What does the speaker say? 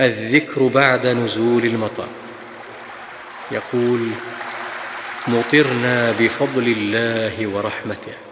الذكر بعد نزول المطر. يقول: مطرنا بفضل الله ورحمته.